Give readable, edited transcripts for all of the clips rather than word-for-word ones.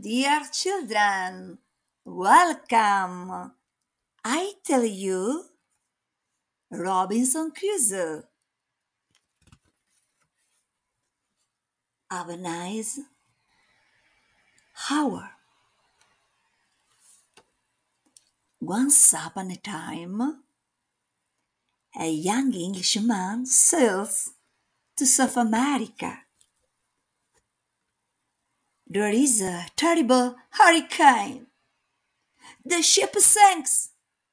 Dear children, welcome. I tell you, Robinson Crusoe. Have a nice hour. Once upon a time, a young Englishman sails to South America. There is a terrible hurricane. The ship sinks.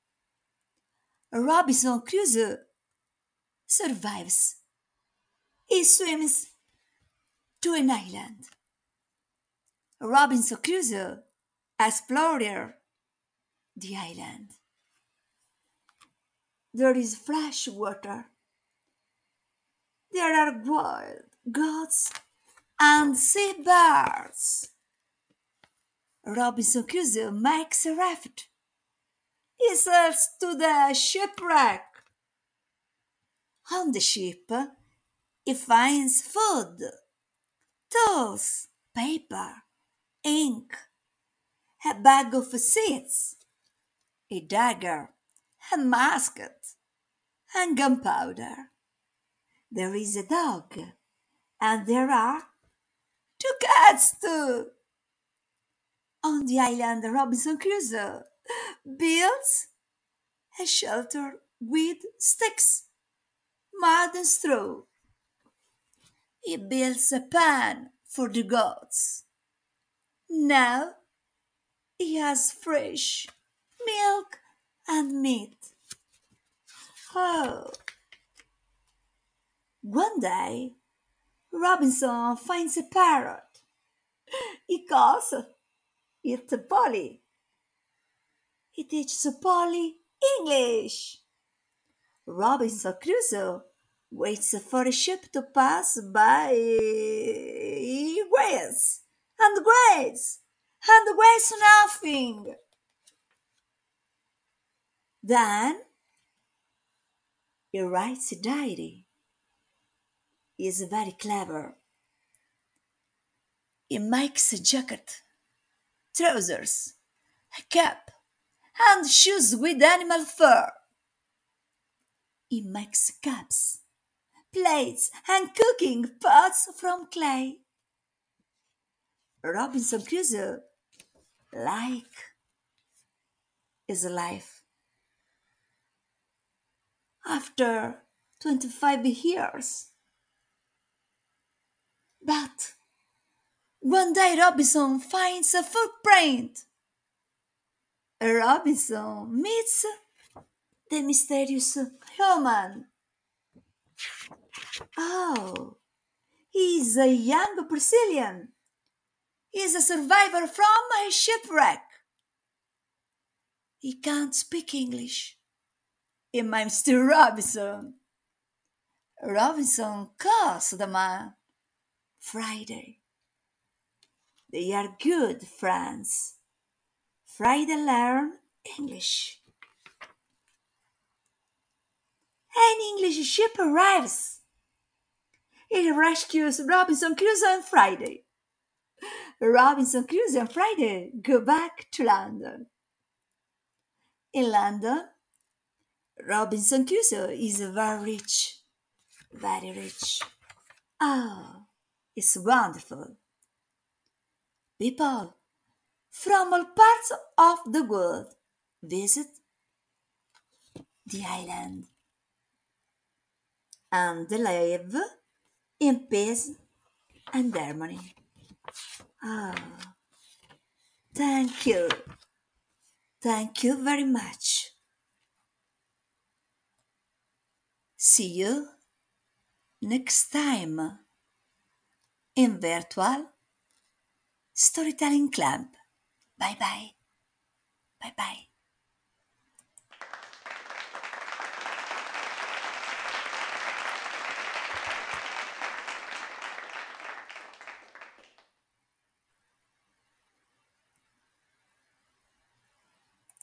Robinson Crusoe survives. He swims to an island. Robinson Crusoe explored the island. There is fresh water. There are wild goats and sea birds. Robinson Crusoe makes a raft. He sails to the shipwreck. On the ship, he finds food, tools, paper, ink, a bag of seeds, a dagger, a musket, and gunpowder. There is a dog, and there are two cats too. On the island, Robinson Crusoe builds a shelter with sticks, mud, and straw. He builds a pen for the goats. Now he has fresh milk and meat. Oh, one day Robinson finds a parrot. He calls it Polly. He teaches Polly English. Robinson Crusoe waits for a ship to pass by. He waits and waits and waits nothing. Then he writes a diary. He is very clever. He makes a jacket, trousers, a cap, and shoes with animal fur. He makes cups, plates, and cooking pots from clay. Robinson Crusoe like his life. After 25 years. But one day Robinson finds a footprint. Robinson meets the mysterious human. Oh, he's a young Brazilian. He's a survivor from a shipwreck. He can't speak English. He mimes to Robinson. Robinson calls the man Friday. They are good friends. Friday learn English. An English ship arrives. It rescues Robinson Crusoe and Friday. Robinson Crusoe and Friday go back to London. In London, Robinson Crusoe is very rich. Oh, it's wonderful. People from all parts of the world visit the island and they live in peace and harmony. Oh, thank you. Thank you very much. See you next time in virtual storytelling club. Bye bye. Bye bye.